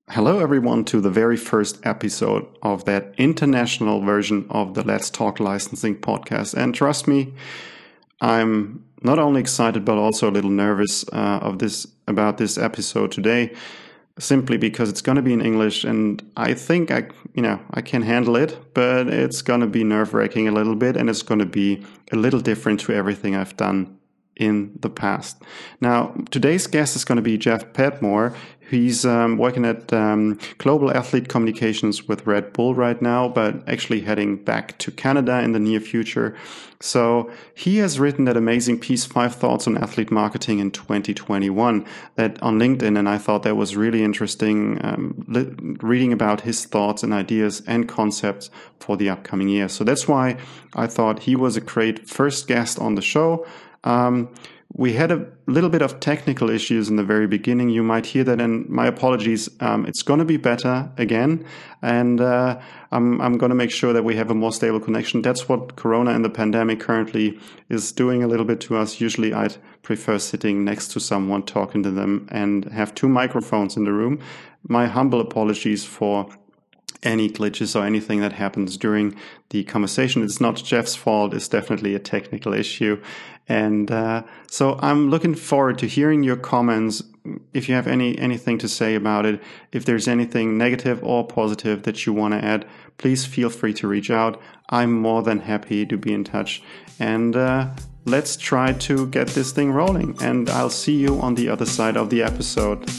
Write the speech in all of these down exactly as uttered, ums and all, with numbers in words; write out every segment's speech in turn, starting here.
Hello, everyone, to the very first episode of that international version of the Let's Talk Licensing podcast. And trust me, I'm not only excited but also a little nervous uh, of this about this episode today, simply because it's going to be in English, and I think I, you know, I can handle it, but it's going to be nerve-wracking a little bit, and it's going to be a little different to everything I've done in the past. Now, today's guest is going to be Jeff Padmore. He's um, working at um, Global Athlete Communications with Red Bull right now, but actually heading back to Canada in the near future. So he has written that amazing piece, Five Thoughts on Athlete Marketing in twenty twenty-one, that on LinkedIn, and I thought that was really interesting, um, li- reading about his thoughts and ideas and concepts for the upcoming year. So that's why I thought he was a great first guest on the show. Um, we had a little bit of technical issues in the very beginning. You might hear that, and my apologies. Um, it's going to be better again, and uh, I'm, I'm going to make sure that we have a more stable connection. That's what Corona and the pandemic currently is doing a little bit to us. Usually I'd prefer sitting next to someone, talking to them, and have two microphones in the room. My humble apologies for any glitches or anything that happens during the conversation. It's not Jeff's fault. It's definitely a technical issue. And uh, so I'm looking forward to hearing your comments. If you have any anything to say about it, if there's anything negative or positive that you want to add, please feel free to reach out. I'm more than happy to be in touch. And uh, let's try to get this thing rolling. And I'll see you on the other side of the episode.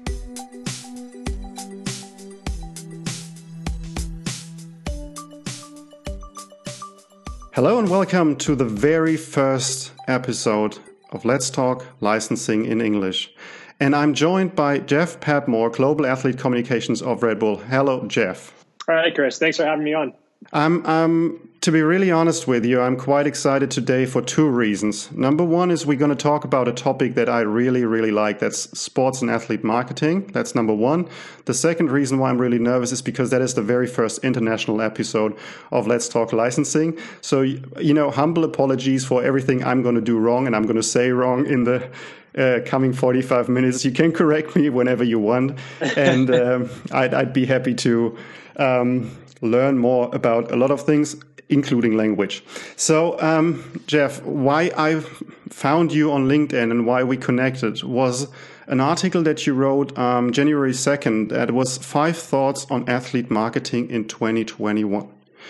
Hello and welcome to the very first episode of Let's Talk Licensing in English. And I'm joined by Jeff Padmore, Global Athlete Communications of Red Bull. Hello, Jeff. All right, Chris. Thanks for having me on. I'm, um, to be really honest with you, I'm quite excited today for two reasons. Number one is we're going to talk about a topic that I really, really like. That's sports and athlete marketing. That's number one. The second reason why I'm really nervous is because that is the very first international episode of Let's Talk Licensing. So, you know, humble apologies for everything I'm going to do wrong and I'm going to say wrong in the uh, coming forty-five minutes. You can correct me whenever you want. And um, I'd, I'd be happy to Um, learn more about a lot of things, including language. So, um, Jeff, why I found you on LinkedIn and why we connected was an article that you wrote um, January second. That was Five Thoughts on Athlete Marketing in twenty twenty-one.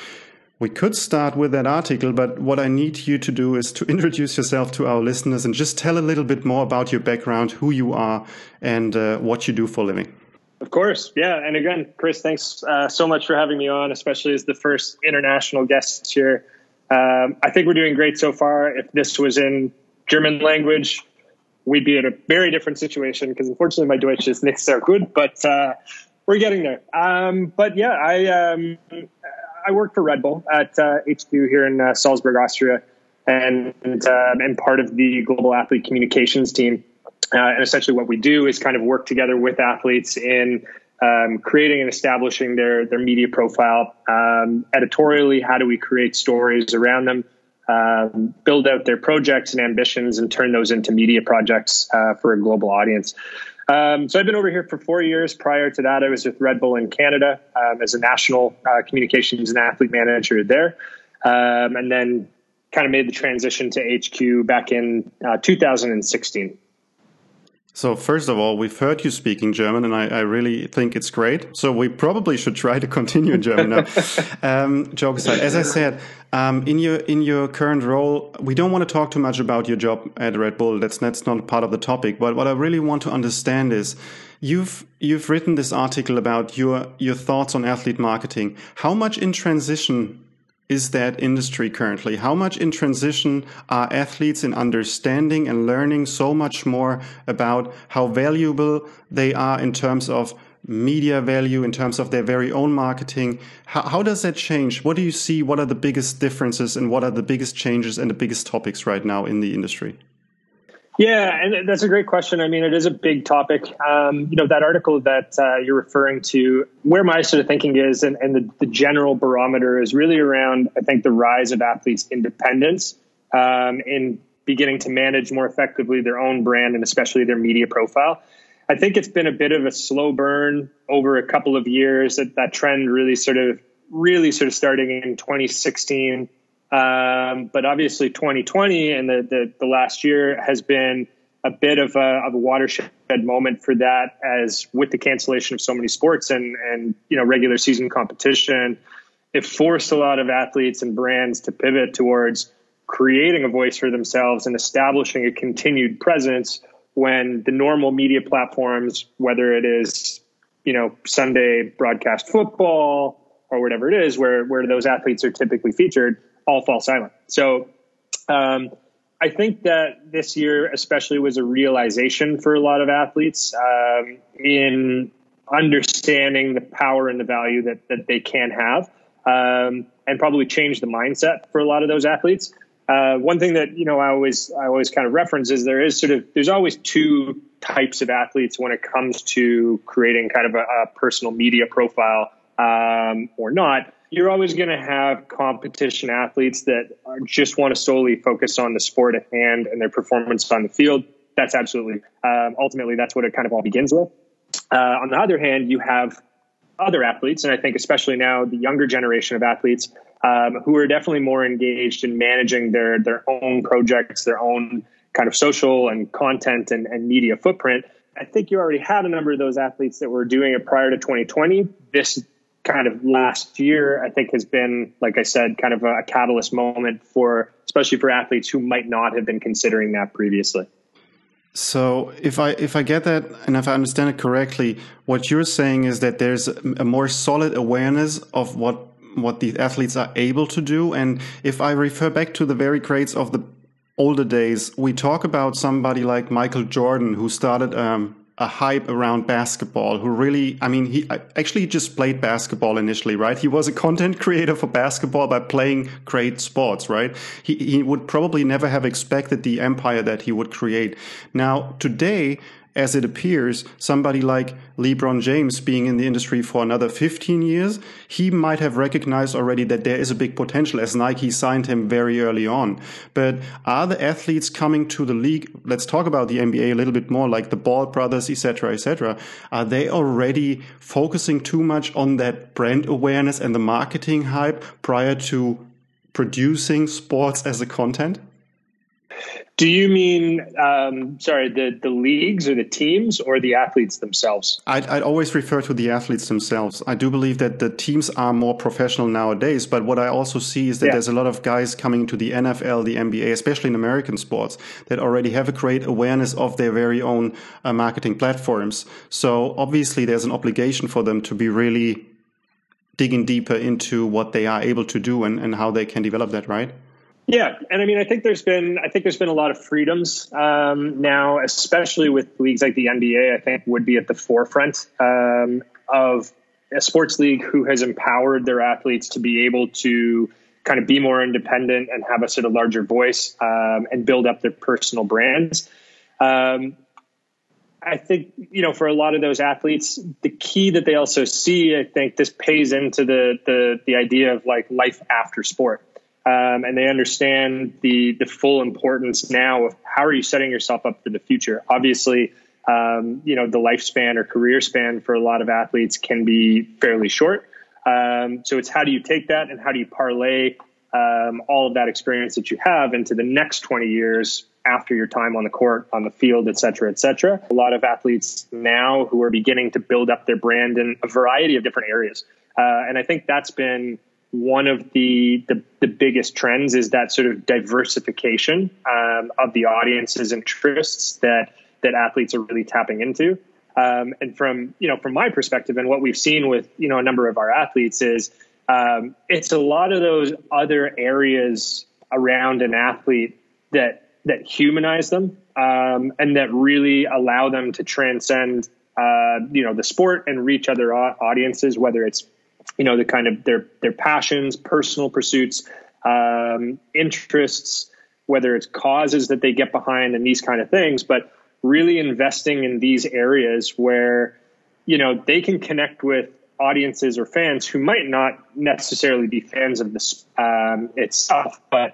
We could start with that article, but what I need you to do is to introduce yourself to our listeners and just tell a little bit more about your background, who you are, and uh, what you do for a living. Of course. Yeah. And again, Chris, thanks uh, so much for having me on, especially as the first international guest here. Um, I think we're doing great so far. If this was in German language, we'd be in a very different situation because unfortunately my Deutsch is nicht sehr gut, but uh, we're getting there. Um, but yeah, I um, I work for Red Bull at uh, H Q here in uh, Salzburg, Austria, and uh, I'm part of the Global Athlete Communications team. Uh, and essentially what we do is kind of work together with athletes in um, creating and establishing their their media profile. Um, editorially, how do we create stories around them, um, build out their projects and ambitions, and turn those into media projects uh, for a global audience. Um, so I've been over here for four years. Prior to that, I was with Red Bull in Canada um, as a national uh, communications and athlete manager there, um, and then kind of made the transition to H Q back in uh, two thousand sixteen. So first of all, we've heard you speaking German, and I, I really think it's great. So we probably should try to continue in German now. um, joke aside, as I said, um, in your in your current role, we don't want to talk too much about your job at Red Bull. That's that's not part of the topic. But what I really want to understand is, you've you've written this article about your your thoughts on athlete marketing. How much in transition is that industry currently? How much in transition are athletes in understanding and learning so much more about how valuable they are in terms of media value, in terms of their very own marketing? How, how does that change? What do you see? What are the biggest differences and what are the biggest changes and the biggest topics right now in the industry? Yeah, and that's a great question. I mean, it is a big topic. Um, you know, that article that uh, you're referring to, where my sort of thinking is, and, and the, the general barometer is really around, I think, the rise of athletes' independence um, in beginning to manage more effectively their own brand and especially their media profile. I think it's been a bit of a slow burn over a couple of years. That, that trend really sort of, really sort of starting in twenty sixteen. Um, but obviously twenty twenty and the, the, the last year has been a bit of a, of a watershed moment for that, as with the cancellation of so many sports and, and, you know, regular season competition, it forced a lot of athletes and brands to pivot towards creating a voice for themselves and establishing a continued presence when the normal media platforms, whether it is, you know, Sunday broadcast football or whatever it is, where, where those athletes are typically featured, all fall silent. So, um, I think that this year especially was a realization for a lot of athletes, um, in understanding the power and the value that, that they can have, um, and probably change the mindset for a lot of those athletes. Uh, one thing that, you know, I always, I always kind of reference is there is sort of, there's always two types of athletes when it comes to creating kind of a, a personal media profile, um, or not. You're always going to have competition athletes that are, just want to solely focus on the sport at hand and their performance on the field. That's absolutely, um, ultimately, that's what it kind of all begins with. Uh, on the other hand, you have other athletes, and I think especially now the younger generation of athletes, um, who are definitely more engaged in managing their their own projects, their own kind of social and content and, and media footprint. I think you already had a number of those athletes that were doing it prior to twenty twenty. This kind of last year, I think, has been, like I said, kind of a catalyst moment for, especially for athletes who might not have been considering that previously. So if I if I get that and if I understand it correctly, what you're saying is that there's a more solid awareness of what what these athletes are able to do. And if I refer back to the very greats of the older days, we talk about somebody like Michael Jordan, who started um, a hype around basketball, who really, I mean, he actually just played basketball initially, right? He was a content creator for basketball by playing great sports, right? He, he would probably never have expected the empire that he would create. Now, today, as it appears, somebody like LeBron James being in the industry for another fifteen years, he might have recognized already that there is a big potential, as Nike signed him very early on. But are the athletes coming to the league, let's talk about the N B A a little bit more, like the Ball brothers, et cetera, et cetera, are they already focusing too much on that brand awareness and the marketing hype prior to producing sports as a content? Do you mean, um, sorry, the, the leagues or the teams or the athletes themselves? I'd, I'd always refer to the athletes themselves. I do believe that the teams are more professional nowadays, but what I also see is that yeah. there's a lot of guys coming to the N F L, the N B A, especially in American sports, that already have a great awareness of their very own uh, marketing platforms. So obviously there's an obligation for them to be really digging deeper into what they are able to do and, and how they can develop that, right? Yeah, and I mean, I think there's been, I think there's been a lot of freedoms um, now, especially with leagues like the N B A. I think would be at the forefront um, of a sports league who has empowered their athletes to be able to kind of be more independent and have a sort of larger voice um, and build up their personal brands. Um, I think, you know, for a lot of those athletes, the key that they also see, I think this pays into the the the idea of like life after sport. Um, and they understand the the full importance now of how are you setting yourself up for the future. Obviously, um, you know, the lifespan or career span for a lot of athletes can be fairly short. Um, so it's how do you take that and how do you parlay um, all of that experience that you have into the next twenty years after your time on the court, on the field, et cetera, et cetera. A lot of athletes now who are beginning to build up their brand in a variety of different areas. Uh, and I think that's been one of the, the, the biggest trends is that sort of diversification um, of the audience's interests that, that athletes are really tapping into. Um, and from, you know, from my perspective and what we've seen with, you know, a number of our athletes is um, it's a lot of those other areas around an athlete that, that humanize them um, and that really allow them to transcend, uh, you know, the sport and reach other audiences, whether it's, you know, the kind of their, their passions, personal pursuits, um, interests, whether it's causes that they get behind and these kind of things, but really investing in these areas where, you know, they can connect with audiences or fans who might not necessarily be fans of this um, itself, but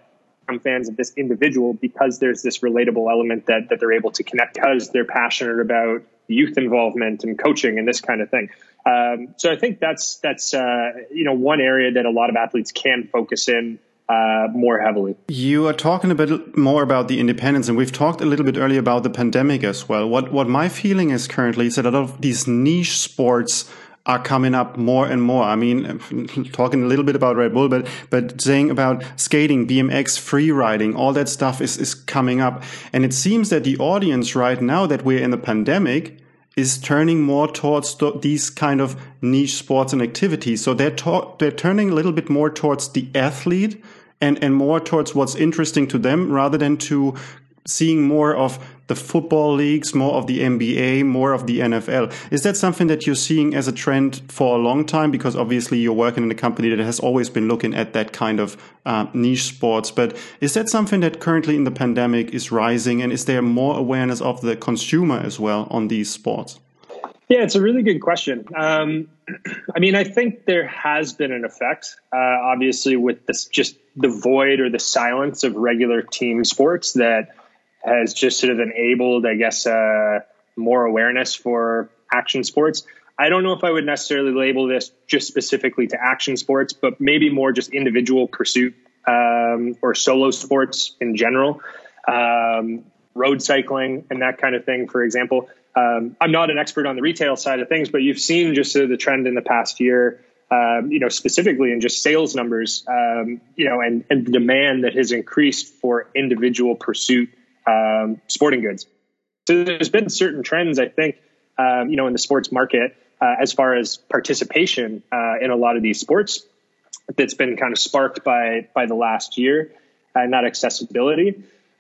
fans of this individual because there's this relatable element that, that they're able to connect because they're passionate about youth involvement and coaching and this kind of thing. Um, so I think that's, that's, uh, you know, one area that a lot of athletes can focus in uh, more heavily. You are talking a bit more about the independence, and we've talked a little bit earlier about the pandemic as well. What, what my feeling is currently is that a lot of these niche sports are coming up more and more. I mean, talking a little bit about Red Bull, but but saying about skating, B M X, free riding, all that stuff is, is coming up. And it seems that the audience right now that we're in the pandemic is turning more towards th- these kind of niche sports and activities. So they're ta- they're turning a little bit more towards the athlete and, and more towards what's interesting to them rather than to seeing more of the football leagues, more of the N B A, more of the N F L. Is that something that you're seeing as a trend for a long time? Because obviously you're working in a company that has always been looking at that kind of uh, niche sports. But is that something that currently in the pandemic is rising? And is there more awareness of the consumer as well on these sports? Yeah, it's a really good question. Um, I mean, I think there has been an effect, uh, obviously, with this just the void or the silence of regular team sports that has just sort of enabled, I guess, uh, more awareness for action sports. I don't know if I would necessarily label this just specifically to action sports, but maybe more just individual pursuit um, or solo sports in general, um, road cycling and that kind of thing, for example. Um, I'm not an expert on the retail side of things, but you've seen just sort of the trend in the past year, um, you know, specifically in just sales numbers, um, you know, and, and the demand that has increased for individual pursuit Um, sporting goods. So there's been certain trends, I think, um, you know, in the sports market uh, as far as participation uh, in a lot of these sports that's been kind of sparked by by the last year and uh, that accessibility.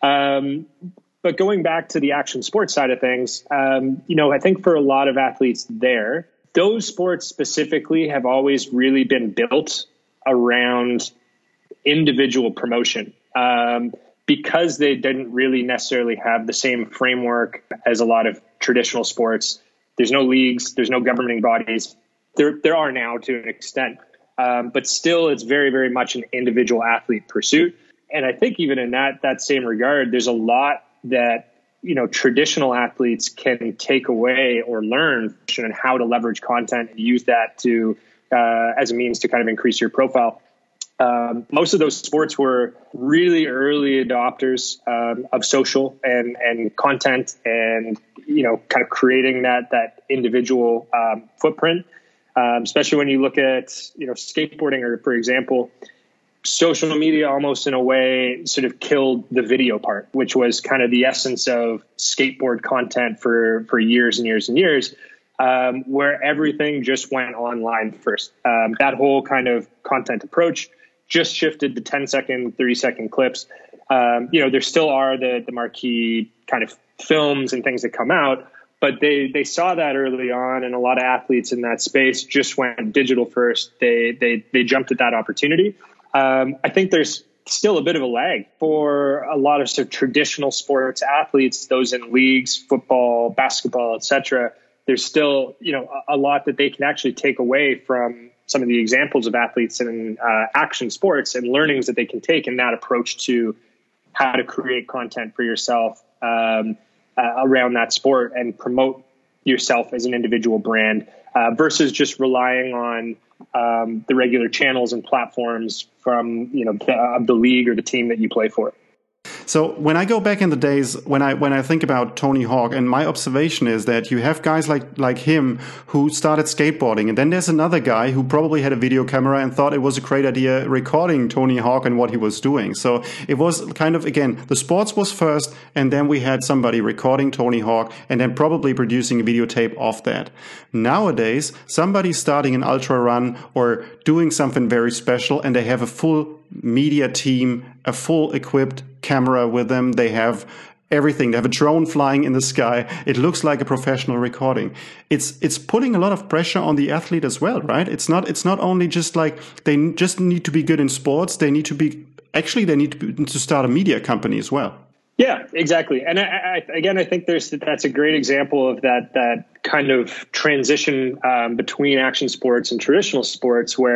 Um, but going back to the action sports side of things, um, you know, I think for a lot of athletes there, those sports specifically have always really been built around individual promotion. Um, Because they didn't really necessarily have the same framework as a lot of traditional sports. There's no leagues, there's no governing bodies. There, there are now to an extent, um, but still, it's very, very much an individual athlete pursuit. And I think even in that that same regard, there's a lot that you know traditional athletes can take away or learn on how to leverage content and use that to uh, as a means to kind of increase your profile. Um, most of those sports were really early adopters um, of social and, and content and, you know, kind of creating that that individual um, footprint, um, especially when you look at, you know, skateboarding or, for example, social media almost in a way sort of killed the video part, which was kind of the essence of skateboard content for, for years and years and years. Um, where everything just went online first. Um, that whole kind of content approach just shifted to ten second, thirty second clips. Um, you know, there still are the, the marquee kind of films and things that come out, but they, they saw that early on, and a lot of athletes in that space just went digital first. They, they, they jumped at that opportunity. Um, I think there's still a bit of a lag for a lot of, sort of traditional sports athletes, those in leagues, football, basketball, et cetera. There's still, you know, a, a lot that they can actually take away from some of the examples of athletes in uh, action sports and learnings that they can take in that approach to how to create content for yourself um, uh, around that sport and promote yourself as an individual brand uh, versus just relying on um, the regular channels and platforms from, you know, the, of the league or the team that you play for. So when I go back in the days, when I when I think about Tony Hawk, and my observation is that you have guys like like him who started skateboarding, and then there's another guy who probably had a video camera and thought it was a great idea recording Tony Hawk and what he was doing. So it was kind of, again, the sports was first, and then we had somebody recording Tony Hawk and then probably producing a videotape of that. Nowadays, somebody's starting an ultra run or doing something very special, and they have a full media team, a full equipped camera with them. They have everything. They have a drone flying in the sky. It looks like a professional recording. It's it's putting a lot of pressure on the athlete as well, right? It's not it's not only just like they just need to be good in sports. They need to be actually they need to, be, to start a media company as well. Yeah, exactly. And I, I, again, I think there's that's a great example of that that kind of transition um, between action sports and traditional sports, where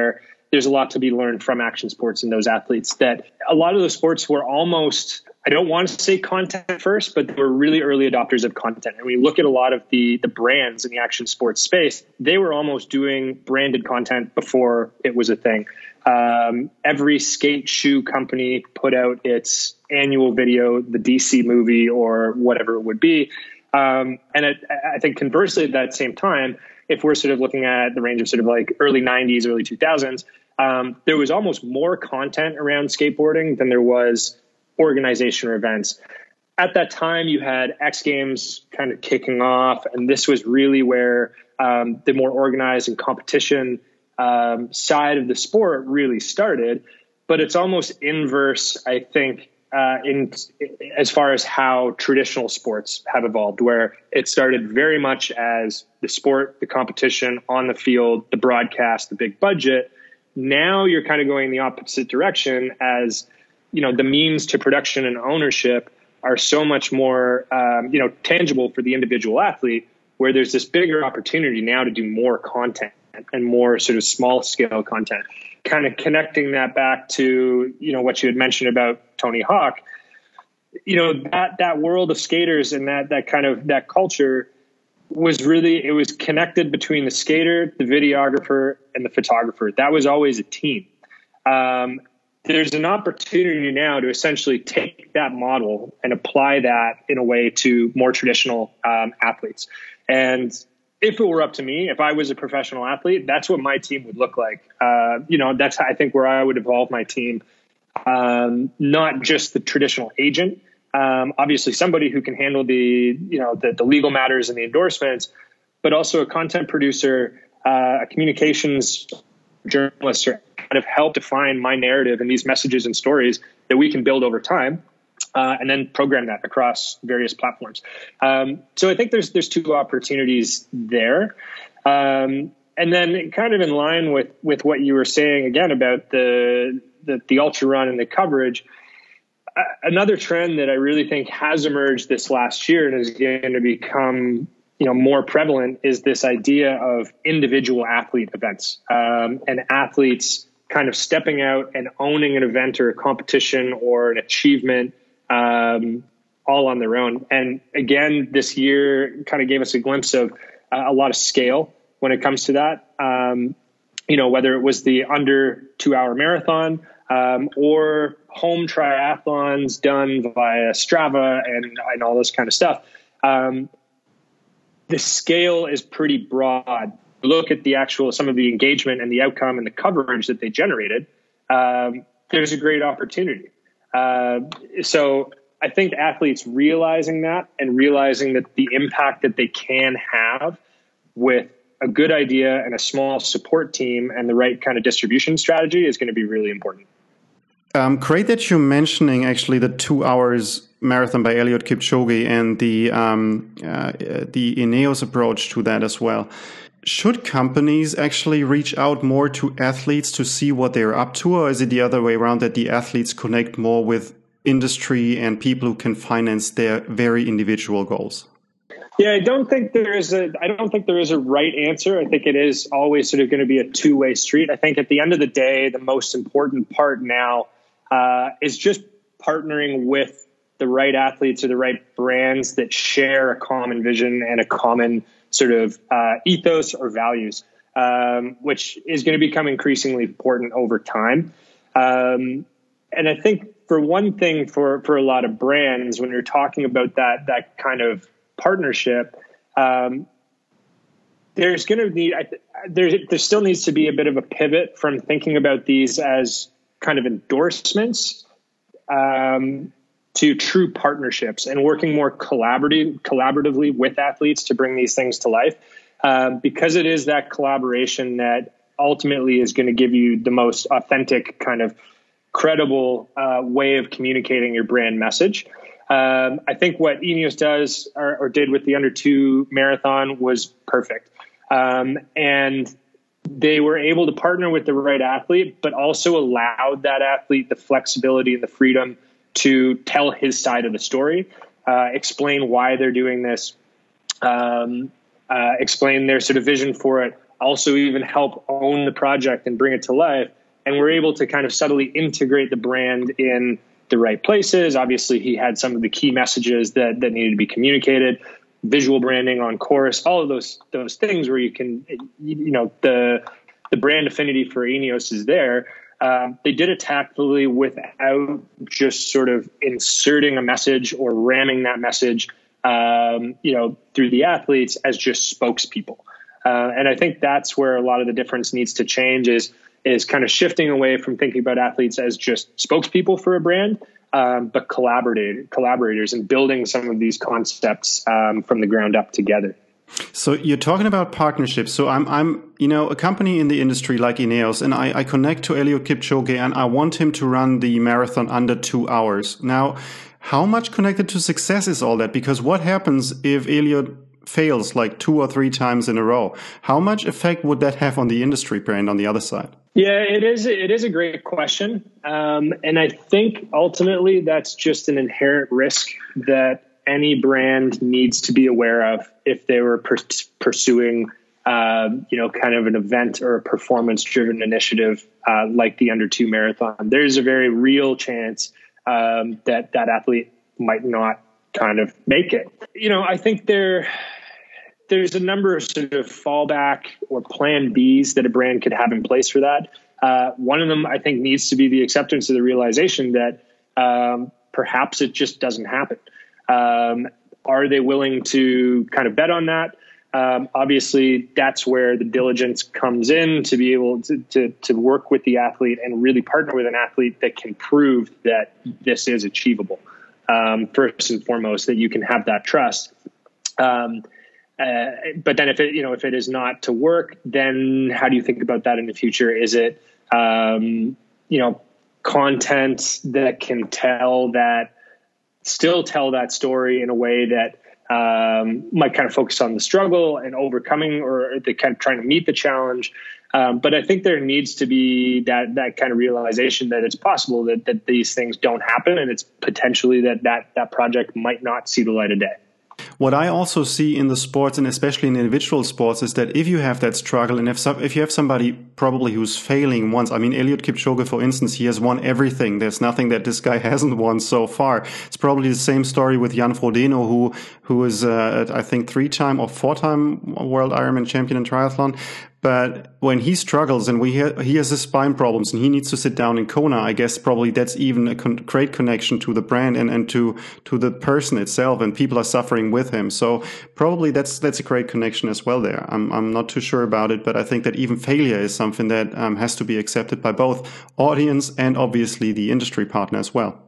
there's a lot to be learned from action sports and those athletes. That a lot of those sports were almost, I don't want to say content first, but they were really early adopters of content. And we look at a lot of the the brands in the action sports space, they were almost doing branded content before it was a thing. Um, every skate shoe company put out its annual video, the D C movie or whatever it would be. Um, and it, I think conversely at that same time, if we're sort of looking at the range of sort of like early nineties, early two thousands, um, there was almost more content around skateboarding than there was organization or events. At that time, you had X Games kind of kicking off, and this was really where um, the more organized and competition um, side of the sport really started. But it's almost inverse, I think, uh, in as far as how traditional sports have evolved, where it started very much as the sport, the competition on the field, the broadcast, the big budget. Now you're kind of going the opposite direction as, you know, the means to production and ownership are so much more, um, you know, tangible for the individual athlete, where there's this bigger opportunity now to do more content and more sort of small scale content. Kind of connecting that back to, you know, what you had mentioned about Tony Hawk, you know, that, that world of skaters and that, that kind of, that culture was really, it was connected between the skater, the videographer, and the photographer. That was always a team. Um, there's an opportunity now to essentially take that model and apply that in a way to more traditional um, athletes. And if it were up to me, if I was a professional athlete, that's what my team would look like. Uh, you know, that's, I think, where I would evolve my team. Um, not just the traditional agent, um, obviously somebody who can handle the, you know, the, the legal matters and the endorsements, but also a content producer, uh, a communications journalist, or kind of help define my narrative and these messages and stories that we can build over time. Uh, and then program that across various platforms. Um, so I think there's there's two opportunities there. Um, and then kind of in line with, with what you were saying again about the, the, the ultra run and the coverage, uh, another trend that I really think has emerged this last year and is going to become, you know, more prevalent is this idea of individual athlete events, um, and athletes kind of stepping out and owning an event or a competition or an achievement, um, all on their own. And again, this year kind of gave us a glimpse of uh, a lot of scale when it comes to that. Um, you know, whether it was the under two hour marathon, um, or home triathlons done via Strava and, and all this kind of stuff. Um, the scale is pretty broad. Look at the actual, some of the engagement and the outcome and the coverage that they generated. Um, there's a great opportunity. Uh, so I think athletes realizing that and realizing that the impact that they can have with a good idea and a small support team and the right kind of distribution strategy is going to be really important. Um, great that you're mentioning actually the two hours marathon by Eliud Kipchoge and the um, uh, the Ineos approach to that as well. Should companies actually reach out more to athletes to see what they're up to, or is it the other way around that the athletes connect more with industry and people who can finance their very individual goals? Yeah, I don't think there is a I don't think there is a right answer. I think it is always sort of going to be a two-way street. I think at the end of the day, the most important part now uh, is just partnering with the right athletes or the right brands that share a common vision and a common sort of uh, ethos or values, um, which is going to become increasingly important over time. Um, and I think for one thing, for, for a lot of brands, when you're talking about that, that kind of partnership, um, there's going to need, there, there still needs to be a bit of a pivot from thinking about these as kind of endorsements, um, to true partnerships and working more collaborative, collaboratively with athletes to bring these things to life. Um, because it is that collaboration that ultimately is going to give you the most authentic, kind of credible uh, way of communicating your brand message. Um, I think what Ineos does or, or did with the under two marathon was perfect. Um, and they were able to partner with the right athlete, but also allowed that athlete the flexibility and the freedom to tell his side of the story, uh, explain why they're doing this, um, uh, explain their sort of vision for it, also even help own the project and bring it to life and we're able to kind of subtly integrate the brand in the right places. Obviously, he had some of the key messages that, that needed to be communicated, visual branding on course, all of those those things where you can, you know, the the brand affinity for Ineos is there. Um, they did it tactfully without just sort of inserting a message or ramming that message, um, you know, through the athletes as just spokespeople. Uh, and I think that's where a lot of the difference needs to change is, is kind of shifting away from thinking about athletes as just spokespeople for a brand, um, but collaborator, collaborators and building some of these concepts um, from the ground up together. So you're talking about partnerships. So I'm, I'm, you know, a company in the industry like Ineos, and I, I connect to Eliud Kipchoge, and I want him to run the marathon under two hours. Now, how much connected to success is all that? Because what happens if Eliud fails like two or three times in a row? How much effect would that have on the industry brand on the other side? Yeah, it is. It is a great question, um, and I think ultimately that's just an inherent risk that any brand needs to be aware of if they were per- pursuing, uh, you know, kind of an event or a performance-driven initiative uh, like the Under Two Marathon. There's a very real chance um, that that athlete might not kind of make it. You know, I think there there's a number of sort of fallback or plan Bs that a brand could have in place for that. Uh, one of them, I think, needs to be the acceptance of the realization that um, perhaps it just doesn't happen. Um, are they willing to kind of bet on that? Um, obviously, that's where the diligence comes in to be able to, to, to work with the athlete and really partner with an athlete that can prove that this is achievable. Um, first and foremost, that you can have that trust. Um, uh, but then if it, you know, if it is not to work, then how do you think about that in the future? Is it, um, you know, content that can tell that, still tell that story in a way that um, might kind of focus on the struggle and overcoming, or the kind of trying to meet the challenge. Um, but I think there needs to be that that kind of realization that it's possible that that these things don't happen, and it's potentially that that that project might not see the light of day. What I also see in the sports, and especially in individual sports, is that if you have that struggle, and if some, if you have somebody probably who's failing once, I mean, Eliud Kipchoge, for instance, he has won everything. There's nothing that this guy hasn't won so far. It's probably the same story with Jan Frodeno, who who is, uh, I think, three-time or four-time World Ironman champion in triathlon. But when he struggles and we ha- he has his spine problems and he needs to sit down in Kona, I guess probably that's even a con- great connection to the brand and, and to to the person itself, and people are suffering with him. So probably that's that's a great connection as well there. I'm I'm not too sure about it, but I think that even failure is something that um, has to be accepted by both audience and obviously the industry partner as well.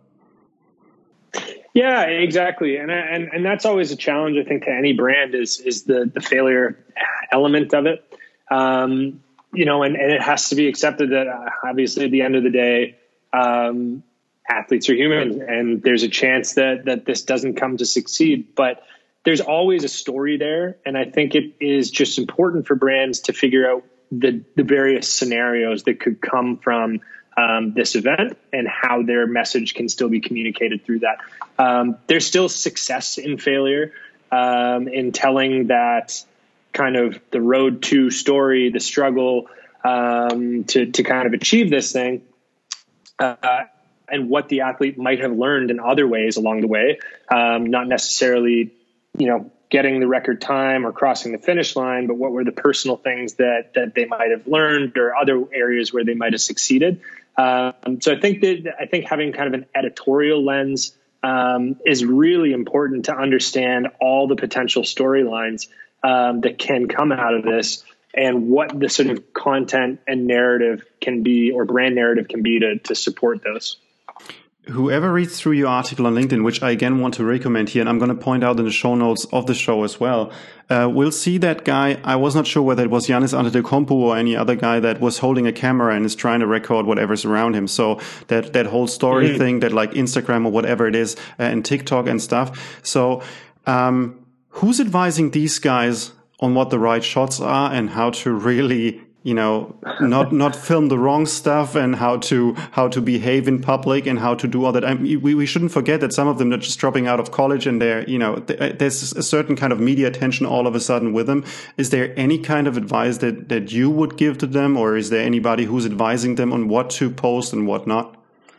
Yeah, exactly. And, and, and that's always a challenge, I think, to any brand is, is the, the failure element of it. Um, you know, and, and it has to be accepted that uh, obviously at the end of the day, um, athletes are human, and there's a chance that, that this doesn't come to succeed, but there's always a story there. And I think it is just important for brands to figure out the, the various scenarios that could come from um, this event and how their message can still be communicated through that. Um, there's still success in failure, um, in telling that kind of the road to story, the struggle, um, to, to kind of achieve this thing, uh, and what the athlete might have learned in other ways along the way. Um, not necessarily, you know, getting the record time or crossing the finish line, but what were the personal things that, that they might have learned, or other areas where they might have succeeded. Um, so I think that, I think having kind of an editorial lens, um, is really important to understand all the potential storylines Um, that can come out of this, and what the sort of content and narrative can be, or brand narrative can be, to, to support those. Whoever reads through your article on LinkedIn, which I again want to recommend here, and I'm going to point out in the show notes of the show as well, uh, will see that guy. I was not sure whether it was Giannis Antetokounmpo or any other guy that was holding a camera and is trying to record whatever's around him. So that, that whole story mm-hmm. thing, that like Instagram or whatever it is, uh, and TikTok and stuff. So, um, who's advising these guys on what the right shots are and how to really you know, not not film the wrong stuff and how to how to behave in public and how to do all that. I mean, we we shouldn't forget that some of them are just dropping out of college and they're, you know, th- there's a certain kind of media attention all of a sudden with them. Is there any kind of advice that that you would give to them, or is there anybody who's advising them on what to post and what not?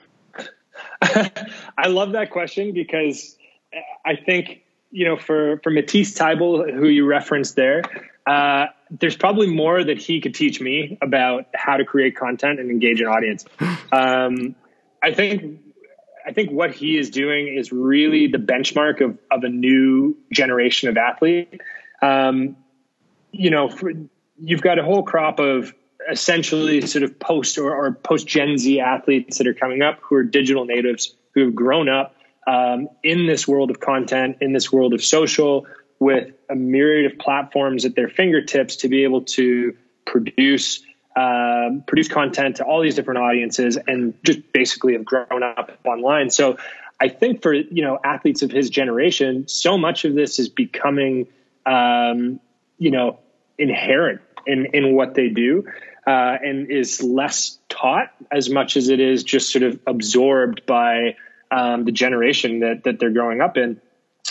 I love that question because I think, you know, for for Matisse Thybulle, who you referenced there, uh, there's probably more that he could teach me about how to create content and engage an audience. Um, I think, I think what he is doing is really the benchmark of, of a new generation of athlete. Um, you know, for, you've got a whole crop of essentially sort of post or, or post Gen Z athletes that are coming up who are digital natives, who have grown up um, in this world of content, in this world of social, with a myriad of platforms at their fingertips to be able to produce um, produce content to all these different audiences and just basically have grown up online. So I think for, you know, athletes of his generation, so much of this is becoming, um, you know, inherent in, in what they do uh, and is less taught as much as it is just sort of absorbed by um, the generation that, that they're growing up in.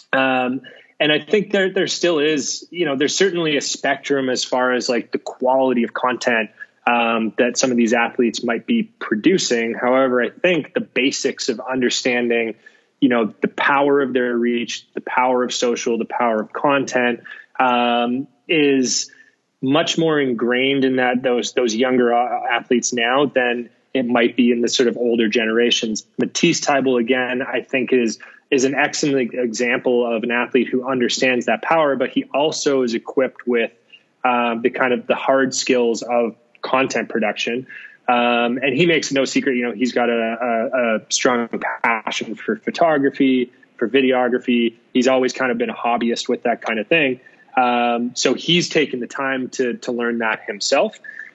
Um, And I think there there still is, you know, there's certainly a spectrum as far as like the quality of content um, that some of these athletes might be producing. However, I think the basics of understanding, you know, the power of their reach, the power of social, the power of content um, is much more ingrained in that those those younger athletes now than it might be in the sort of older generations. Matisse Thybulle, again, I think is is an excellent example of an athlete who understands that power, but he also is equipped with um, the kind of the hard skills of content production. Um, and he makes no secret, you know, he's got a, a, a strong passion for photography, for videography. He's always kind of been a hobbyist with that kind of thing. Um, so he's taken the time to to learn that himself.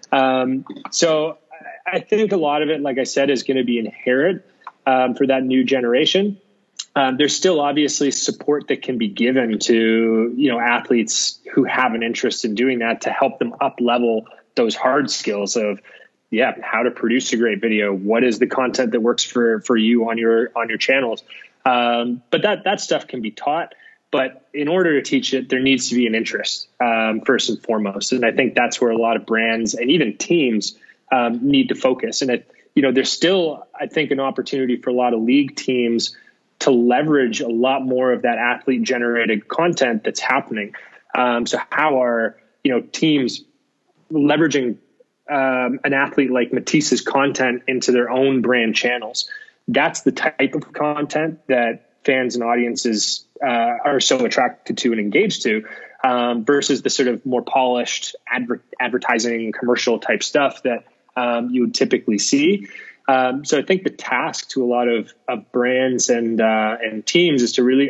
Um, so I think a lot of it, like I said, is going to be inherent um, for that new generation. Um, there's still obviously support that can be given to, you know, athletes who have an interest in doing that to help them up level those hard skills of, yeah, how to produce a great video. What is the content that works for, for you on your, on your channels? Um, but that, that stuff can be taught, but in order to teach it, there needs to be an interest, um, first and foremost. And I think that's where a lot of brands and even teams, um, need to focus. And it, you know, there's still, I think, an opportunity for a lot of league teams to leverage a lot more of that athlete generated content that's happening. Um, so how are, you know, teams leveraging um, an athlete like Matisse's content into their own brand channels? That's the type of content that fans and audiences uh, are so attracted to and engaged to, um, versus the sort of more polished adver- advertising commercial type stuff that um, you would typically see. Um, so I think the task to a lot of, of brands and uh, and teams is to really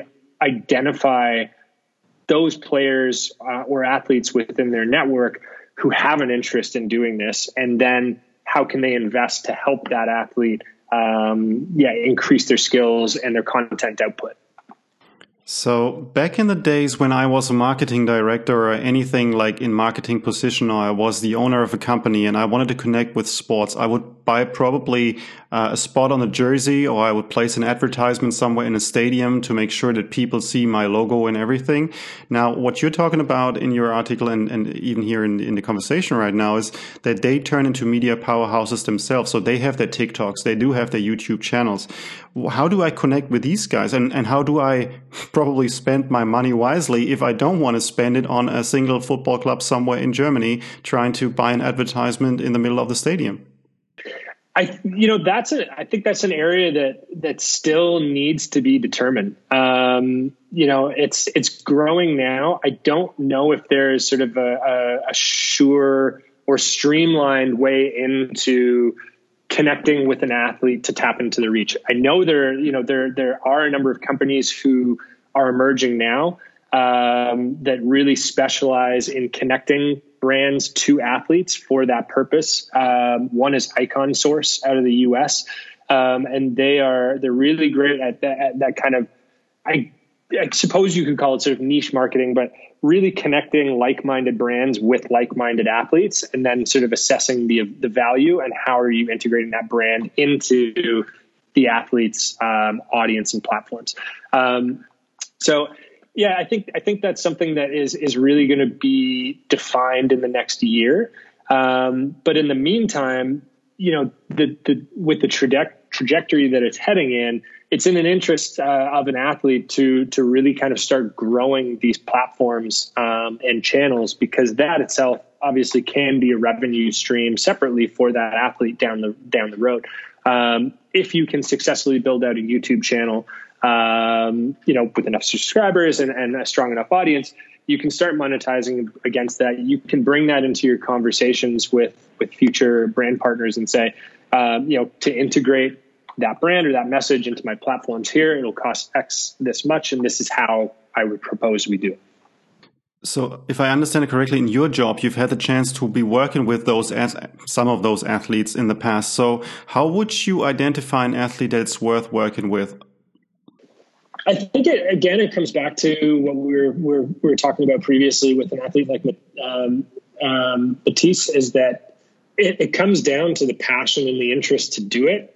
identify those players uh, or athletes within their network who have an interest in doing this, and then how can they invest to help that athlete, um, yeah, increase their skills and their content output. So back in the days when I was a marketing director or anything like in marketing position, or I was the owner of a company and I wanted to connect with sports, I would buy probably uh, a spot on a jersey, or I would place an advertisement somewhere in a stadium to make sure that people see my logo and everything. Now, what you're talking about in your article and, and even here in, in the conversation right now is that they turn into media powerhouses themselves. So they have their TikToks, they do have their YouTube channels. How do I connect with these guys? And, and how do I probably spend my money wisely if I don't want to spend it on a single football club somewhere in Germany trying to buy an advertisement in the middle of the stadium? I, you know, that's a, I think that's an area that, that still needs to be determined. Um, you know, it's, it's growing now. I don't know if there's sort of a, a, a sure or streamlined way into connecting with an athlete to tap into the reach. I know there, you know, there, there are a number of companies who are emerging now, um, that really specialize in connecting brands to athletes for that purpose. Um, one is Icon Source out of the U S. Um, and they are, they're really great at that, at that kind of, I I suppose you could call it sort of niche marketing, but really connecting like-minded brands with like-minded athletes, and then sort of assessing the the value and how are you integrating that brand into the athlete's um, audience and platforms. Um, so, yeah, I think I think that's something that is is really going to be defined in the next year. Um, but in the meantime, you know, the the with the traje- trajectory that it's heading in, it's in an interest uh, of an athlete to to really kind of start growing these platforms um, and channels, because that itself obviously can be a revenue stream separately for that athlete down the down the road. Um, if you can successfully build out a YouTube channel, um, you know, with enough subscribers and, and a strong enough audience, you can start monetizing against that. You can bring that into your conversations with with future brand partners and say, um, you know, to integrate that brand or that message into my platforms here, it'll cost X this much, and this is how I would propose we do it. So if I understand it correctly, in your job, you've had the chance to be working with those as some of those athletes in the past. So how would you identify an athlete that's worth working with? I think it, again, it comes back to what we were, we were, we were talking about previously with an athlete like um, um, Matisse, is that it, it comes down to the passion and the interest to do it.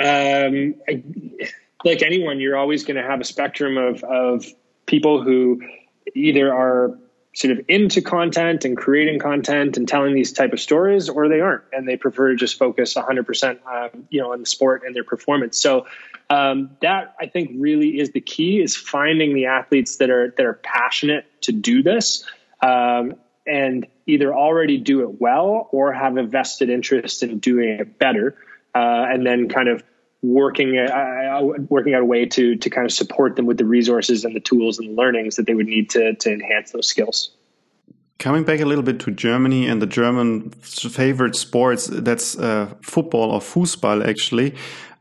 Um, I, like anyone, you're always going to have a spectrum of, of people who either are sort of into content and creating content and telling these type of stories, or they aren't, and they prefer to just focus one hundred percent, um, you know, on the sport and their performance. So um, that, I think, really is the key, is finding the athletes that are that are passionate to do this, um, and either already do it well or have a vested interest in doing it better. Uh, and then kind of working uh, working out a way to to kind of support them with the resources and the tools and the learnings that they would need to to enhance those skills. Coming back a little bit to Germany and the German favorite sports, that's uh, football, or Fußball, actually.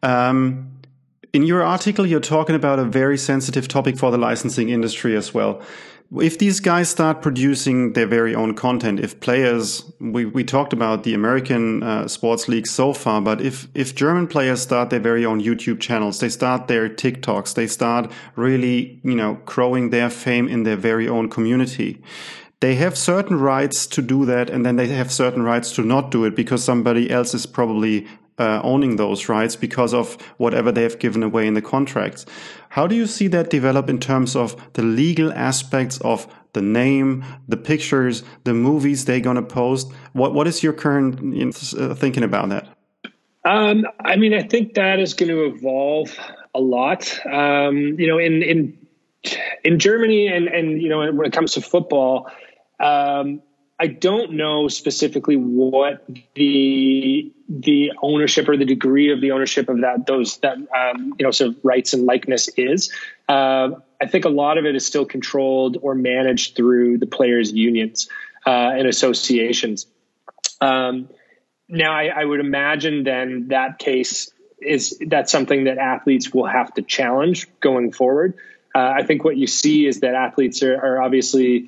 Um, in your article, you're talking about a very sensitive topic for the licensing industry as well. If these guys start producing their very own content, if players, we, we talked about the American uh, sports leagues so far, but if, if German players start their very own YouTube channels, they start their TikToks, they start really, you know, growing their fame in their very own community. They have certain rights to do that, and then they have certain rights to not do it because somebody else is probably uh, owning those rights because of whatever they have given away in the contracts. How do you see that develop in terms of the legal aspects of the name, the pictures, the movies they're going to post? What What is your current you know, uh, thinking about that? Um, I mean, I think that is going to evolve a lot. Um, you know, in in in Germany, and and you know, when it comes to football, um, I don't know specifically what the the ownership or the degree of the ownership of that those that um, you know sort of rights and likeness is. Uh, I think a lot of it is still controlled or managed through the players' unions uh, and associations. Um, now, I, I would imagine then that case is that's something that athletes will have to challenge going forward. Uh, I think what you see is that athletes are, are obviously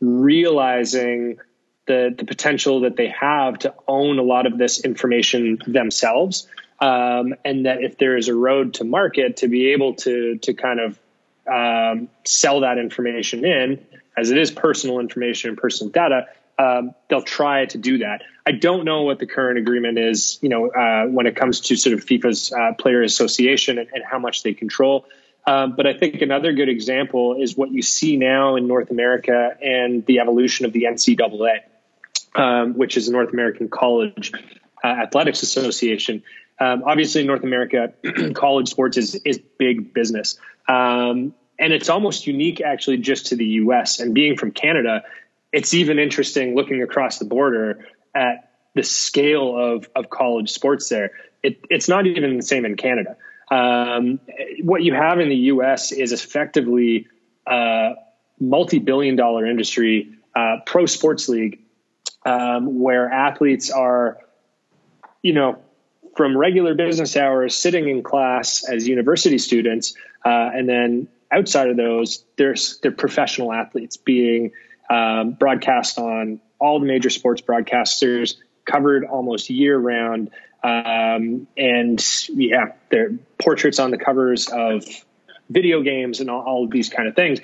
realizing the, the potential that they have to own a lot of this information themselves. Um, and that if there is a road to market to be able to, to kind of um, sell that information in, as it is personal information and personal data, um, they'll try to do that. I don't know what the current agreement is, you know, uh, when it comes to sort of FIFA's uh, player association and, and how much they control. Um, but I think another good example is what you see now in North America and the evolution of the N C double A. Um, which is the North American College uh, Athletics Association. Um, obviously, in North America, college sports is, is big business. Um, and it's almost unique, actually, just to the U S. And being from Canada, it's even interesting looking across the border at the scale of, of college sports there. It, it's not even the same in Canada. Um, what you have in the U S is effectively a multi-billion dollar industry, uh, pro sports league, Um, where athletes are, you know, from regular business hours sitting in class as university students, uh, and then outside of those, there's they're professional athletes being um, broadcast on all the major sports broadcasters, covered almost year round, um, and yeah, their portraits on the covers of video games and all, all of these kind of things.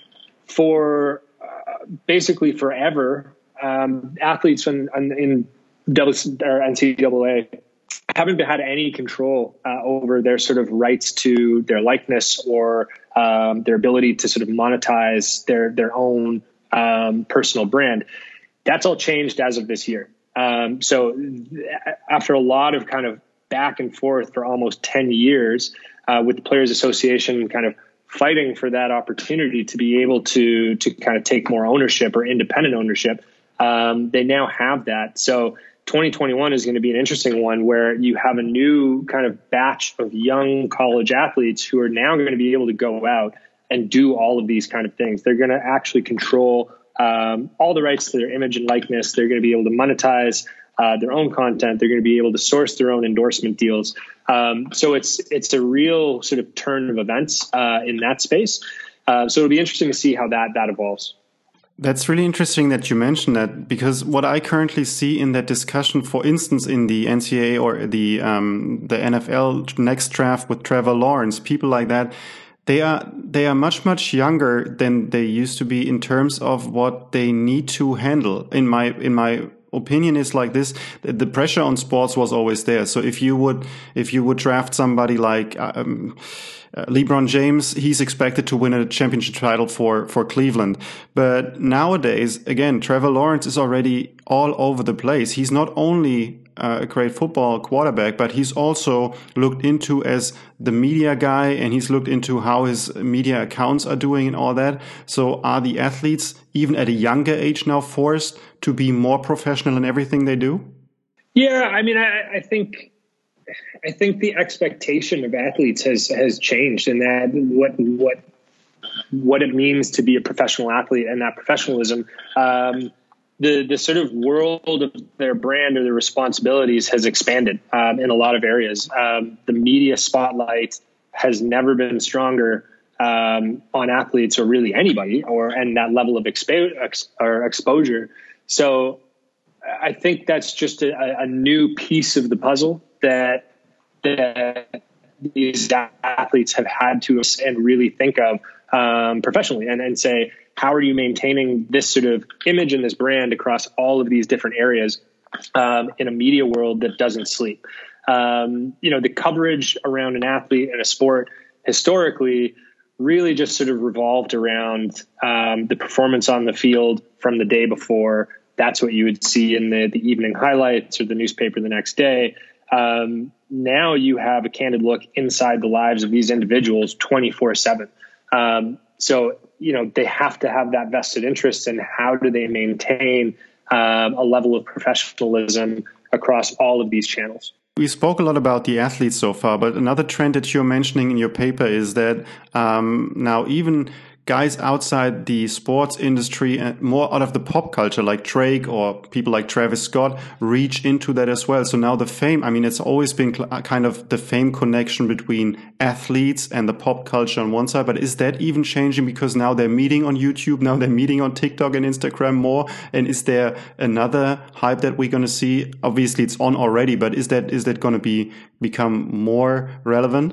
For uh, basically forever, um, athletes in, in double, or N C double A haven't had any control uh, over their sort of rights to their likeness or um, their ability to sort of monetize their their own um, personal brand. That's all changed as of this year. Um, so after a lot of kind of back and forth for almost ten years uh, with the Players Association kind of fighting for that opportunity to be able to to kind of take more ownership or independent ownership, um, they now have that. So twenty twenty-one is going to be an interesting one where you have a new kind of batch of young college athletes who are now going to be able to go out and do all of these kind of things. They're going to actually control um, all the rights to their image and likeness. They're going to be able to monetize uh, their own content. They're going to be able to source their own endorsement deals. Um, so it's it's a real sort of turn of events uh, in that space. Uh, so it'll be interesting to see how that that evolves. That's really interesting that you mentioned that, because what I currently see in that discussion, for instance, in the N C double A or the um, the N F L next draft with Trevor Lawrence, people like that, they are they are much much younger than they used to be in terms of what they need to handle. In my in my opinion is like this: the pressure on sports was always there. So if you would if you would draft somebody like um, Uh, LeBron James, he's expected to win a championship title for, for Cleveland. But nowadays, again, Trevor Lawrence is already all over the place. He's not only uh, a great football quarterback, but he's also looked into as the media guy, and he's looked into how his media accounts are doing and all that. So are the athletes, even at a younger age now, forced to be more professional in everything they do? Yeah, I mean, I, I think... I think the expectation of athletes has has changed, and that what what what it means to be a professional athlete and that professionalism, um, the the sort of world of their brand or their responsibilities has expanded um, in a lot of areas. Um, the media spotlight has never been stronger um, on athletes, or really anybody, or and that level of expo- ex- or exposure. So I think that's just a, a new piece of the puzzle that that these athletes have had to and really think of um, professionally, and, and say, how are you maintaining this sort of image and this brand across all of these different areas um, in a media world that doesn't sleep? Um, you know, the coverage around an athlete and a sport historically really just sort of revolved around um, the performance on the field from the day before. That's what you would see in the, the evening highlights or the newspaper the next day. Um, now you have a candid look inside the lives of these individuals twenty-four seven. Um, so, you know, they have to have that vested interest in how do they maintain um, a level of professionalism across all of these channels. We spoke a lot about the athletes so far, but another trend that you're mentioning in your paper is that um, now even guys outside the sports industry and more out of the pop culture, like Drake or people like Travis Scott, reach into that as well. So now the fame, I mean, it's always been kind of the fame connection between athletes and the pop culture on one side, but is that even changing because now they're meeting on YouTube, now they're meeting on TikTok and Instagram more? And is there another hype that we're going to see? Obviously it's on already, but is that is that going to be become more relevant?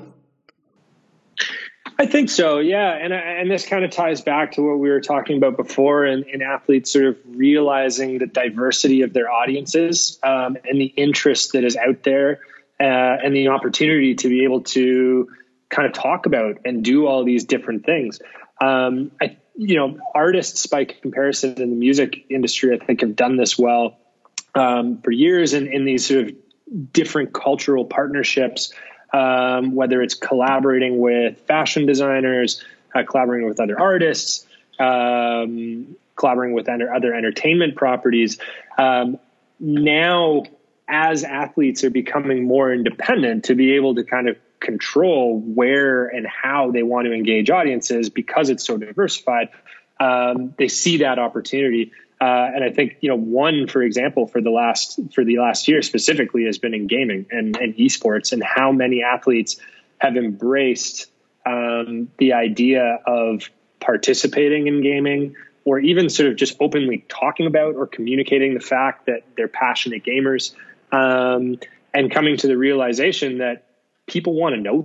I think so, yeah. And and this kind of ties back to what we were talking about before, and, and athletes sort of realizing the diversity of their audiences um, and the interest that is out there uh, and the opportunity to be able to kind of talk about and do all these different things. Um, I, you know, artists by comparison in the music industry, I think, have done this well um, for years in, in these sort of different cultural partnerships. Um, whether it's collaborating with fashion designers, uh, collaborating with other artists, um, collaborating with other, other entertainment properties. Um, now, as athletes are becoming more independent to be able to kind of control where and how they want to engage audiences because it's so diversified, um, they see that opportunity. Uh, and I think, you know, one, for example, for the last for the last year specifically has been in gaming and, and esports, and how many athletes have embraced um, the idea of participating in gaming, or even sort of just openly talking about or communicating the fact that they're passionate gamers, um, and coming to the realization that people want to know that.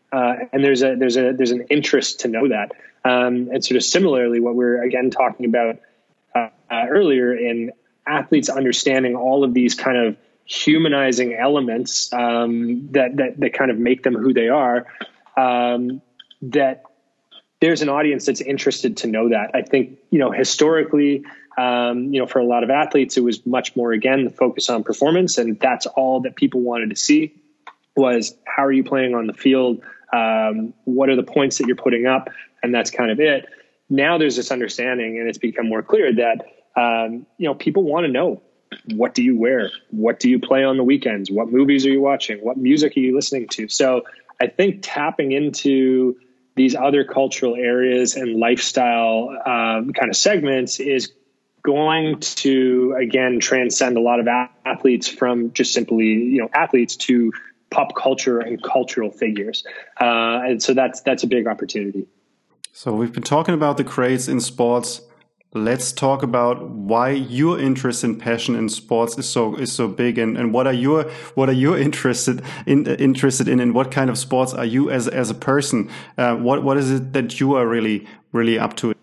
Uh, and there's a, there's a, there's an interest to know that. Um, and sort of similarly, what we're again talking about uh, uh, earlier in athletes understanding all of these kind of humanizing elements um, that, that, that kind of make them who they are, um, that there's an audience that's interested to know that. I think, you know, historically, um, you know, for a lot of athletes, it was much more, again, the focus on performance. And that's all that people wanted to see was, how are you playing on the field? Um, what are the points that you're putting up? And that's kind of it. Now there's this understanding, and it's become more clear that, um, you know, people want to know, what do you wear? What do you play on the weekends? What movies are you watching? What music are you listening to? So I think tapping into these other cultural areas and lifestyle um, kind of segments is going to, again, transcend a lot of athletes from just simply, you know, athletes to pop culture and cultural figures. Uh, and so that's, that's a big opportunity. So we've been talking about the craze in sports. Let's talk about why your interest and passion in sports is so is so big, and, and what are your what are you interested in interested in, and what kind of sports are you as as a person? Uh, what what is it that you are really really up to?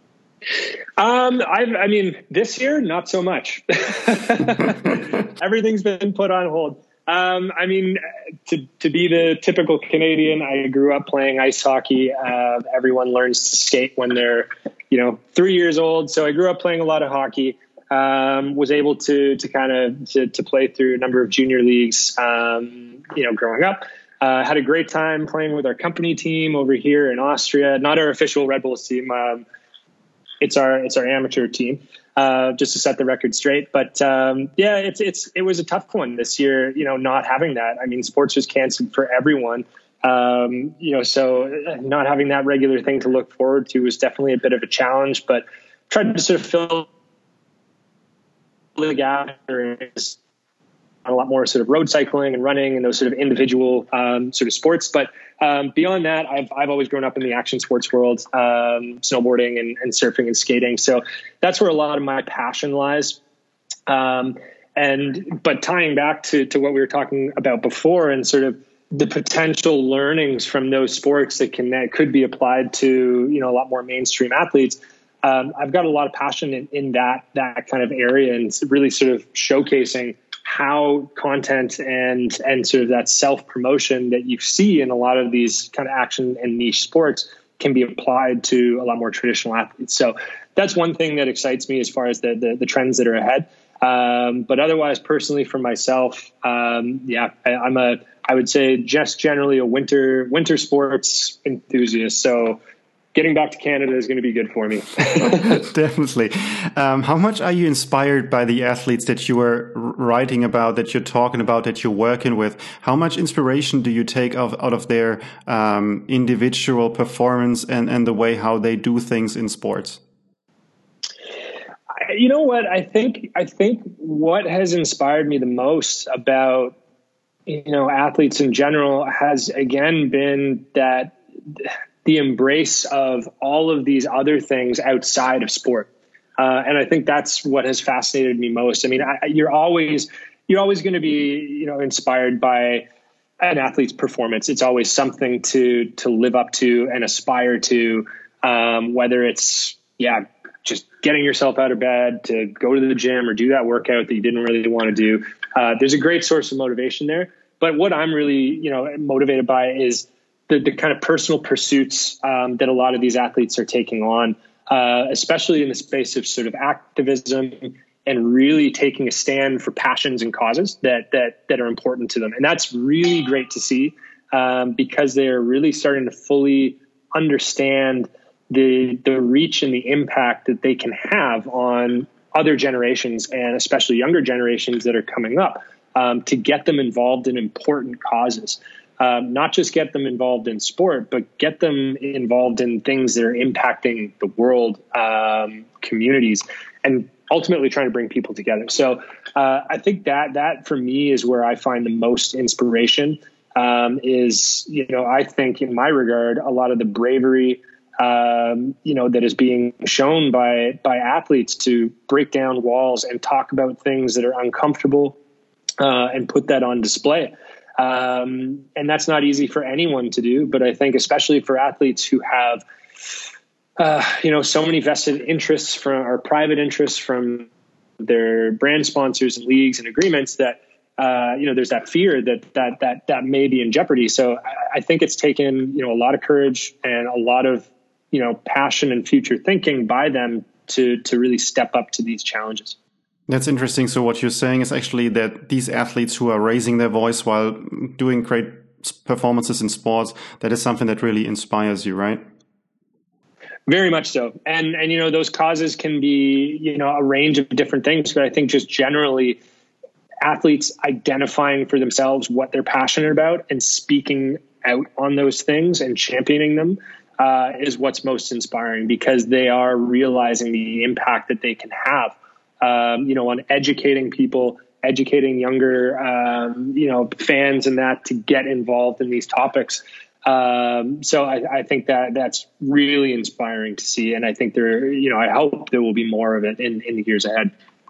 Um, I, I mean, this year not so much. Everything's been put on hold. Um, I mean, to, to be the typical Canadian, I grew up playing ice hockey. Uh, everyone learns to skate when they're, you know, three years old. So I grew up playing a lot of hockey, um, was able to, to kind of, to, to play through a number of junior leagues, um, you know, growing up. Uh, had a great time playing with our company team over here in Austria, not our official Red Bulls team. Um, it's our, it's our amateur team. Uh, just to set the record straight. But, um, yeah, it's, it's, it was a tough one this year, you know, not having that. I mean, sports was canceled for everyone. Um, you know, so not having that regular thing to look forward to was definitely a bit of a challenge, but tried to sort of fill the gap. A lot more sort of road cycling and running and those sort of individual, um, sort of sports. But, um, beyond that, I've, I've always grown up in the action sports world, um, snowboarding and, and surfing and skating. So that's where a lot of my passion lies. Um, and, but tying back to, to what we were talking about before and sort of the potential learnings from those sports that can, that could be applied to, you know, a lot more mainstream athletes. Um, I've got a lot of passion in, in that, that kind of area, and really sort of showcasing how content and and sort of that self-promotion that you see in a lot of these kind of action and niche sports can be applied to a lot more traditional athletes. So that's one thing that excites me as far as the the, the trends that are ahead. Um, but otherwise, personally for myself, um, yeah, I, I'm a I would say just generally a winter winter sports enthusiast. So getting back to Canada is going to be good for me. Definitely. Um, how much are you inspired by the athletes that you are writing about, that you're talking about, that you're working with? How much inspiration do you take of, out of their um, individual performance and, and the way how they do things in sports? You know what? I think, I think what has inspired me the most about, you know, athletes in general has again been that the embrace of all of these other things outside of sport. Uh, and I think that's what has fascinated me most. I mean, I, you're always, you're always going to be, you know, inspired by an athlete's performance. It's always something to, to live up to and aspire to, um, whether it's, yeah, just getting yourself out of bed to go to the gym or do that workout that you didn't really want to do. Uh, there's a great source of motivation there. But what I'm really, you know, motivated by is the, the kind of personal pursuits um, that a lot of these athletes are taking on, uh, especially in the space of sort of activism and really taking a stand for passions and causes that that that are important to them. And that's really great to see um, because they're really starting to fully understand the the reach and the impact that they can have on other generations, and especially younger generations that are coming up, um, to get them involved in important causes. Um, not just get them involved in sport, but get them involved in things that are impacting the world, um, communities, and ultimately trying to bring people together. So uh, I think that that for me is where I find the most inspiration. Um, is, you know, I think in my regard, a lot of the bravery, um, you know, that is being shown by by athletes to break down walls and talk about things that are uncomfortable, uh, and put that on display. Um, and that's not easy for anyone to do, but I think especially for athletes who have, uh, you know, so many vested interests from or private interests from their brand sponsors and leagues and agreements that, uh, you know, there's that fear that, that, that, that may be in jeopardy. So I, I think it's taken, you know, a lot of courage and a lot of, you know, passion and future thinking by them to, to really step up to these challenges. That's interesting. So what you're saying is actually that these athletes who are raising their voice while doing great performances in sports, that is something that really inspires you, right? Very much so. And, and, you know, those causes can be, you know, a range of different things, but I think just generally athletes identifying for themselves what they're passionate about and speaking out on those things and championing them uh, is what's most inspiring, because they are realizing the impact that they can have, um, you know, on educating people, educating younger, um, you know, fans and that to get involved in these topics. Um, so I, I think that that's really inspiring to see. And I think there, you know, I hope there will be more of it in, in the years ahead.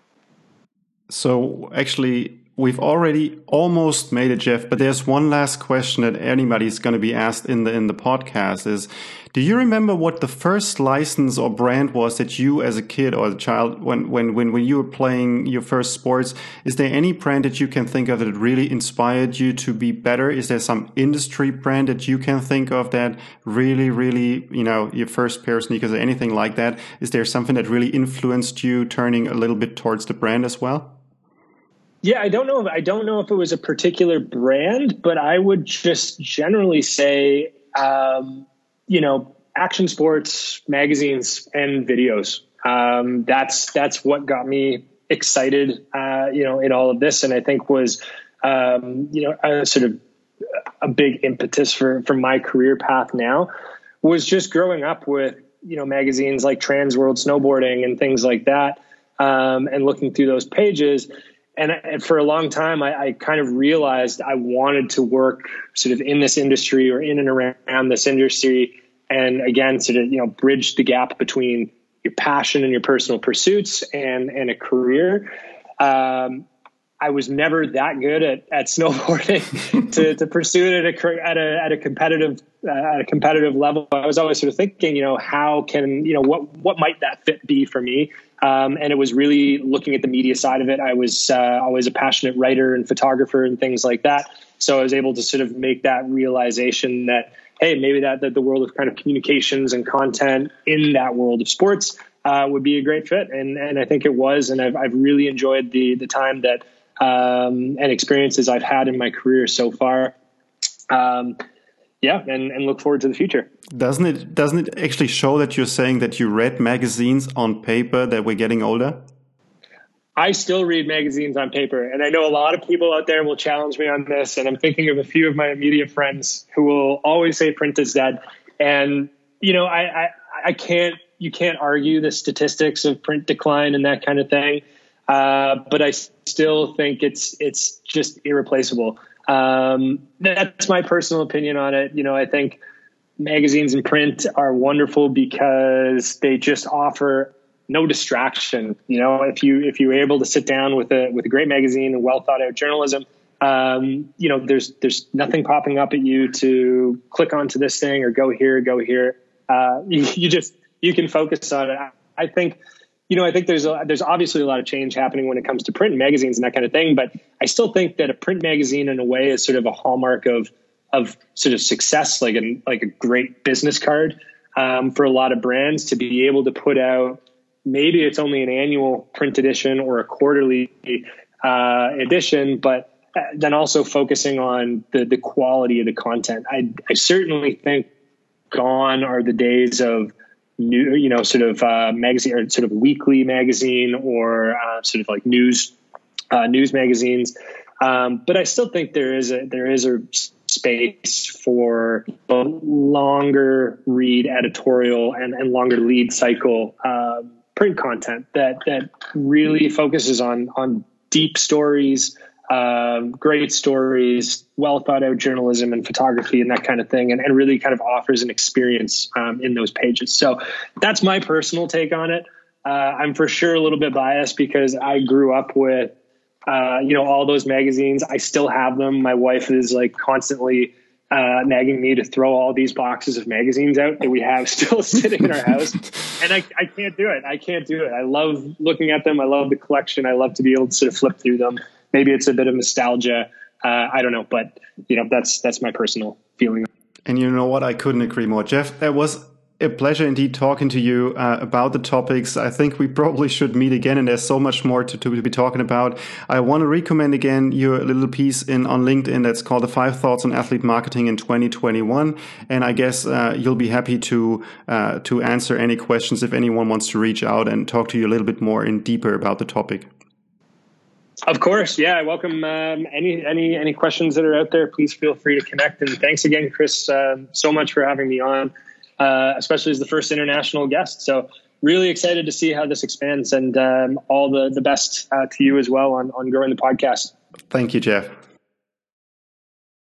So actually, we've already almost made it, Jeff, but there's one last question that anybody's going to be asked in the in the podcast is, do you remember what the first license or brand was that you as a kid or a child, when, when, when, when you were playing your first sports, is there any brand that you can think of that really inspired you to be better? Is there some industry brand that you can think of that really, really, you know, your first pair of sneakers or anything like that? Is there something that really influenced you turning a little bit towards the brand as well? Yeah, I don't know. If, I don't know if it was a particular brand, but I would just generally say, um, you know, action sports magazines and videos. Um, that's that's what got me excited, uh, you know, in all of this, and I think was, um, you know, a sort of a big impetus for for my career path now was just growing up with, you know, magazines like Trans World Snowboarding and things like that, um, and looking through those pages. And, and for a long time, I, I kind of realized I wanted to work sort of in this industry or in and around this industry. And again, sort of, you know, bridge the gap between your passion and your personal pursuits and, and a career. Um, I was never that good at, at snowboarding to, to pursue it at a, at a, at a competitive, uh, at a competitive level. I was always sort of thinking, you know, how can, you know, what, what might that fit be for me? Um, and it was really looking at the media side of it. I was uh, always a passionate writer and photographer and things like that. So I was able to sort of make that realization that, hey, maybe that, that the world of kind of communications and content in that world of sports uh, would be a great fit. And, and I think it was, and I've, I've really enjoyed the, the time that, um, and experiences I've had in my career so far. Um, yeah. And, and look forward to the future. Doesn't it, doesn't it actually show that you're saying that you read magazines on paper, that we're getting older? I still read magazines on paper, and I know a lot of people out there will challenge me on this, and I'm thinking of a few of my immediate friends who will always say print is dead. And, you know, I, I, I can't, you can't argue the statistics of print decline and that kind of thing. Uh, but I still think it's, it's just irreplaceable. Um, that's my personal opinion on it. You know, I think magazines and print are wonderful because they just offer no distraction. You know, if you, if you're able to sit down with a, with a great magazine and well thought out journalism, um, you know, there's, there's nothing popping up at you to click onto this thing or go here, go here. Uh, you, you just, you can focus on it. I think, you know, I think there's a, there's obviously a lot of change happening when it comes to print and magazines and that kind of thing, but I still think that a print magazine in a way is sort of a hallmark of, of sort of success, like a, like a great business card, um, for a lot of brands to be able to put out. Maybe it's only an annual print edition or a quarterly uh, edition, but then also focusing on the, the quality of the content. I, I certainly think gone are the days of new, you know, sort of uh, magazine or sort of weekly magazine or uh, sort of like news uh, news magazines. Um, but I still think there is a there is a space for a longer read editorial and, and longer lead cycle uh, print content that that really focuses on on deep stories, um, great stories, well thought out journalism and photography and that kind of thing, and, and really kind of offers an experience um, in those pages. So that's my personal take on it. Uh, I'm for sure a little bit biased because I grew up with uh, you know, all those magazines. I still have them. My wife is like constantly uh, nagging me to throw all these boxes of magazines out that we have still sitting in our house. And I, I can't do it. I can't do it. I love looking at them. I love the collection. I love to be able to sort of flip through them. Maybe it's a bit of nostalgia. Uh, I don't know, but you know, that's, that's my personal feeling. And you know what? I couldn't agree more. Jeff, that was a pleasure indeed talking to you uh, about the topics. I think we probably should meet again, and there's so much more to, to be talking about. I want to recommend again your little piece in on LinkedIn that's called The Five Thoughts on Athlete Marketing in twenty twenty-one. And I guess uh, you'll be happy to uh, to answer any questions if anyone wants to reach out and talk to you a little bit more in deeper about the topic. Of course. Yeah. I welcome um, any, any, any questions that are out there. Please feel free to connect. And thanks again, Chris, uh, so much for having me on, uh, especially as the first international guest. So really excited to see how this expands, and um, all the, the best uh, to you as well on, on growing the podcast. Thank you, Jeff.